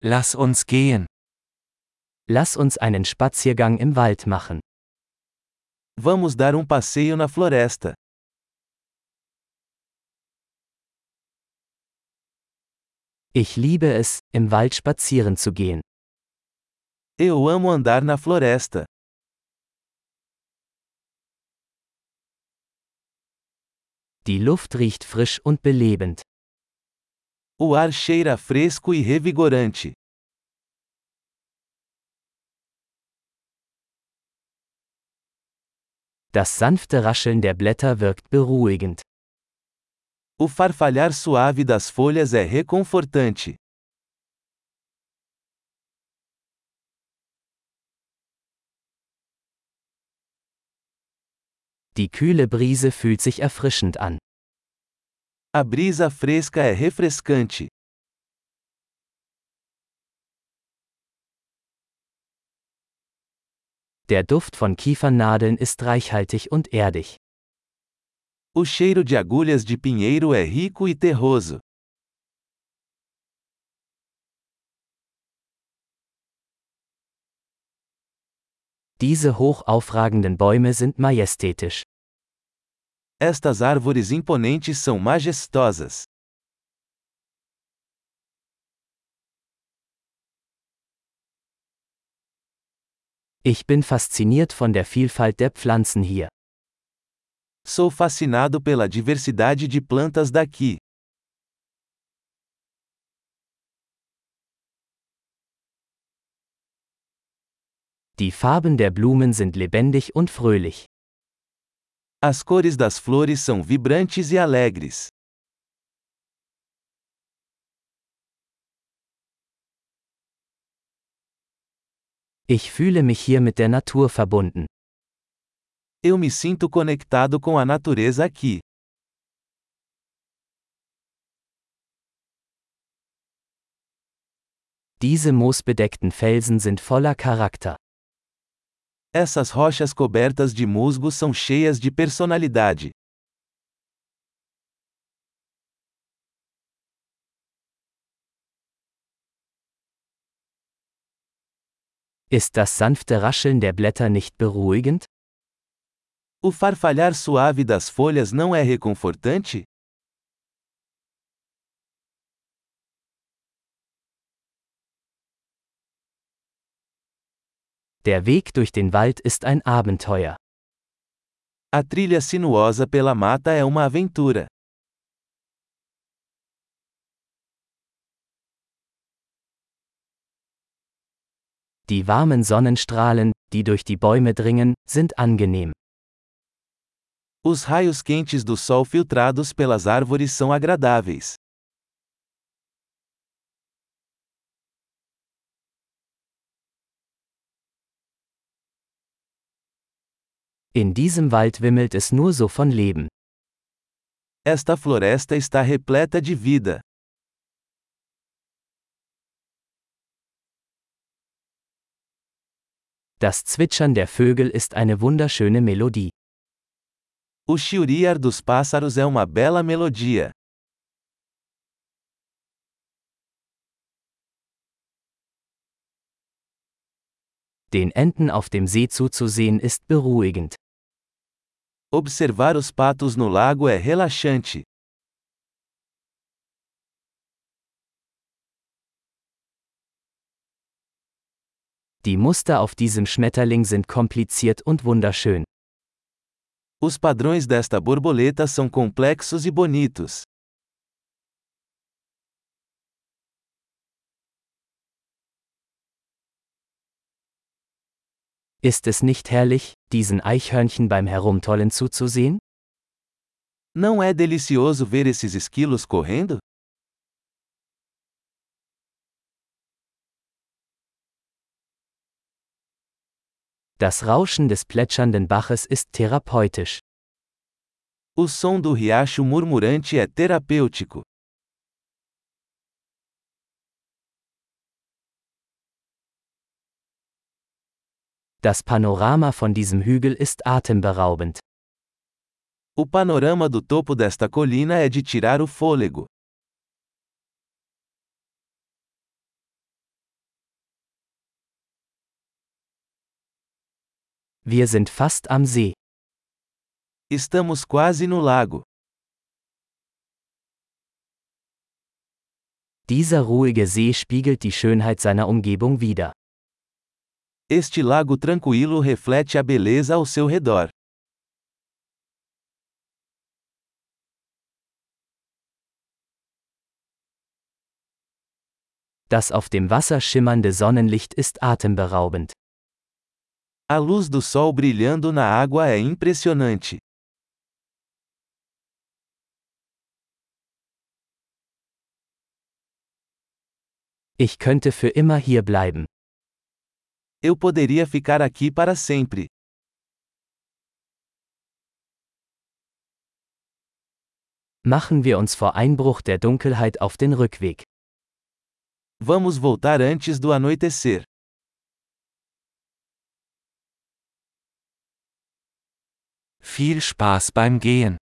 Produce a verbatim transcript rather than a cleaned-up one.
Lass uns gehen. Lass uns einen Spaziergang im Wald machen. Vamos dar um passeio na floresta. Ich liebe es, im Wald spazieren zu gehen. Eu amo andar na floresta. Die Luft riecht frisch und belebend. O ar cheira fresco e revigorante. Das sanfte Rascheln der Blätter wirkt beruhigend. O farfalhar suave das folhas é reconfortante. Die kühle Brise fühlt sich erfrischend an. A brisa fresca é refrescante. Der Duft von Kiefernadeln ist reichhaltig und erdig. O cheiro de agulhas de pinheiro é rico e terroso. Diese hoch aufragenden Bäume sind majestätisch. Estas árvores imponentes são majestosas. Ich bin fasziniert von der Vielfalt der Pflanzen hier. Sou fascinado pela diversidade de plantas daqui. Die Farben der Blumen sind lebendig und fröhlich. As cores das flores são vibrantes e alegres. Ich fühle mich hier mit der Natur verbunden. Eu me sinto conectado com a natureza aqui. Diese moosbedeckten Felsen sind voller Charakter. Essas rochas cobertas de musgo são cheias de personalidade. Ist das sanfte Rascheln der Blätter nicht beruhigend? O farfalhar suave das folhas não é reconfortante? Der Weg durch den Wald ist ein Abenteuer. A trilha sinuosa pela mata é uma aventura. Die warmen Sonnenstrahlen, die durch die Bäume dringen, sind angenehm. Os raios quentes do sol filtrados pelas árvores são agradáveis. In diesem Wald wimmelt es nur so von Leben. Esta floresta está repleta de vida. Das Zwitschern der Vögel ist eine wunderschöne Melodie. O chiliar dos pássaros é uma bela melodia. Den Enten auf dem See zuzusehen ist beruhigend. Observar os patos no lago é relaxante. Die Muster auf diesem Schmetterling sind kompliziert und wunderschön. Os padrões desta borboleta são complexos e bonitos. Ist es nicht herrlich, diesen Eichhörnchen beim Herumtollen zuzusehen? Não é delicioso ver esses esquilos correndo? Das Rauschen des plätschernden Baches ist therapeutisch. O som do riacho murmurante é terapêutico. Das Panorama von diesem Hügel ist atemberaubend. O panorama do topo desta colina é de tirar o fôlego. Wir sind fast am See. Estamos quase no lago. Dieser ruhige See spiegelt die Schönheit seiner Umgebung wider. Este lago tranquilo reflete a beleza ao seu redor. Das auf dem Wasser schimmernde Sonnenlicht ist atemberaubend. A luz do sol brilhando na água é impressionante. Ich könnte für immer hier bleiben. Eu poderia ficar aqui para sempre. Machen wir uns vor Einbruch der Dunkelheit auf den Rückweg. Vamos voltar antes do anoitecer. Viel Spaß beim Gehen.